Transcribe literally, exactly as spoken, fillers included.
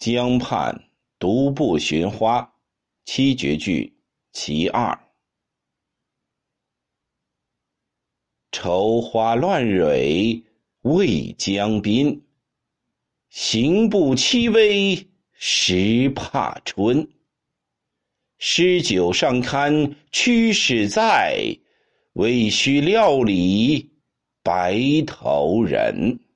江畔独步寻花，七绝句其二。愁花乱蕊未将宾，行步凄微时怕春。诗酒尚堪驱使在，未须料理白头人。